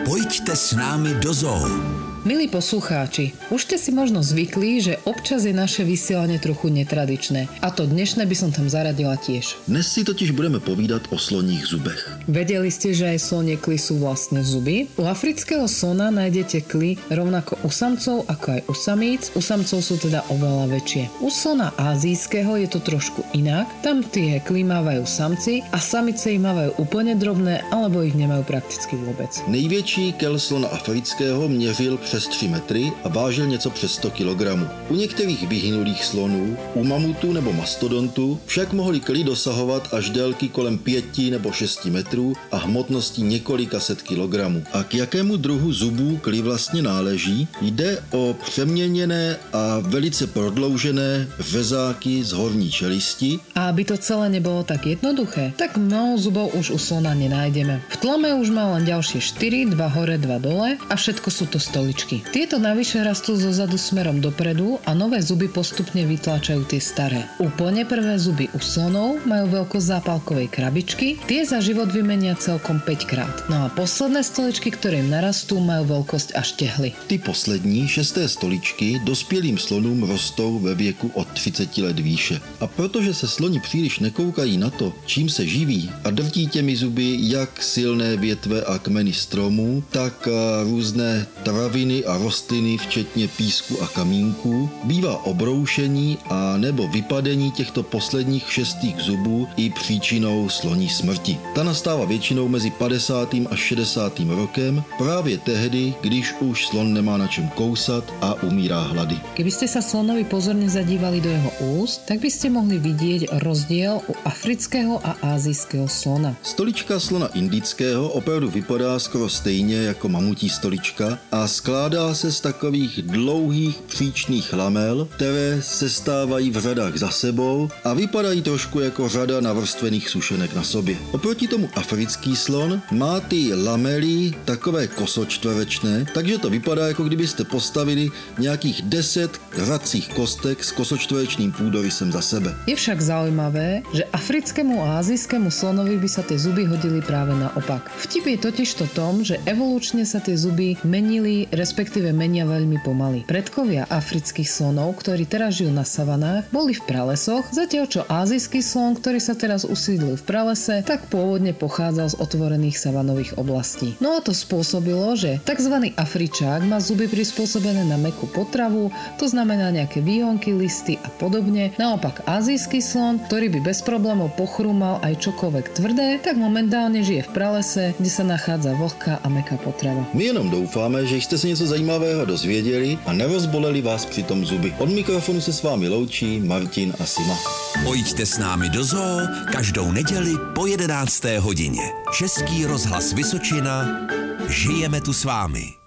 Pojďte s námi do zoo. Milí poslucháči, už ste si možno zvykli, že občas je naše vysielanie trochu netradičné. A to dnešné by som tam zaradila tiež. Dnes si totiž budeme povídat o sloních zubech. Vedeli ste, že aj slonie kly sú vlastne zuby? U afrického slona nájdete kly rovnako u samcov ako aj u samíc. U samcov sú teda oveľa väčšie. U slona ázijského je to trošku inak. Tam tie kly mávajú samci a samice ich mávajú úplne drobné alebo ich nemajú prakticky vôbec. Největší kel slona afrického měřil přes 3 metry a vážil něco přes 100 kg. U některých vyhynulých slonů, u mamutů nebo mastodontů však mohly kly dosahovat až délky kolem 5 nebo 6 metrů a hmotnosti několika set kilogramů. A k jakému druhu zubů kly vlastně náleží? Jde o přeměněné a velice prodloužené řezáky z horní čelisti. A aby to celé nebolo tak jednoduché, tak mnoho zubov už u slona nenájdeme. V tlame už má len ďalšie 4, 2 hore, 2 dole a všetko sú to stoličky. Tieto navyše rastú zo zadu smerom dopredu a nové zuby postupne vytláčajú tie staré. Úplne prvé zuby u slonov majú veľkosť zápalkovej krabičky, tie za život vymenia celkom 5 krát. No a posledné stoličky, ktoré im narastú, majú veľkosť až tehly. Ty poslední 6. stoličky dospělým slonům rostou ve věku od 30 let výše. A protože se sloni příliš nekoukají na to, čím se živí a drtí těmi zuby jak silné větve a kmeny stromů, tak různé traviny a rostliny, včetně písku a kamínků, bývá obroušení a nebo vypadení těchto posledních 6 zubů i příčinou sloní smrti. Ta nastává většinou mezi 50. a 60. rokem, právě tehdy, když už slon nemá na čem kousat a umírá hlady. Keby ste sa slonovi pozorne zadívali do jeho úst, tak by ste mohli vidieť rozdiel u afrického a ázijského slona. Stolička slona indického opravdu vypadá skoro stejně jako mamutí stolička a skládá se z takových dlouhých příčných lamel, které se stávají v řadách za sebou a vypadají trošku jako řada navrstvených sušenek na sobě. Oproti tomu africký slon má ty lamely takové kosočtverečné, takže to vypadá, jako kdybyste postavili nějakých 10 hracích kostek s kosočtverečným půdorysem za sebe. Je však zaujímavé, že africkému a azijskému slonovi by sa tie zuby hodili práve naopak. Vtip je totiž to tom, že evolučne sa tie zuby menili, respektíve menia veľmi pomaly. Predkovia afrických slonov, ktorí teraz žijú na savanách, boli v pralesoch, zatiaľ čo ázijský slon, ktorý sa teraz usídlil v pralese, tak pôvodne pochádzal z otvorených savanových oblastí. No a to spôsobilo, že tzv. Afričák má zuby prispôsobené na mäkkú potravu, to znamená nejaké výhonky, listy a podobne. Naopak azijský slon, ktorý by bez problémov pochrúmal aj čokoľvek tvrdé, tak momentálne žije v pralese, kde sa nachádza vlhká a mäkká potrava. My jenom doufáme, že jste se něco zajímavého dozvěděli a nerozboleli vás přitom zuby. Od mikrofonu se s vámi loučí Martin a Sima. Pojďte s námi do zoo každou neděli po 11. hodině. Český rozhlas Vysočina. Žijeme tu s vámi.